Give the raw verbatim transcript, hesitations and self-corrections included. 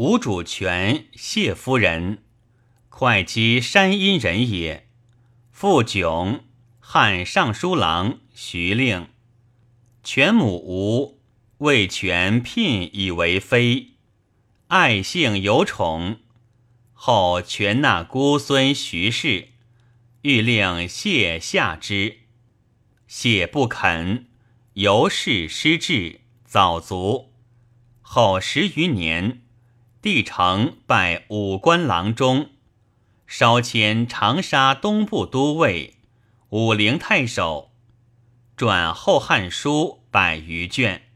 吴主权谢夫人，会稽山阴人也。父迥，汉尚书郎、徐令。权母吴，为权聘以为妃，爱幸有宠。后权纳姑孙徐氏，欲令谢下之，谢不肯，由是失志，早卒。后十余年，帝成拜武官郎中，稍迁长沙东部都尉、武陵太守，撰《后汉书》百余卷。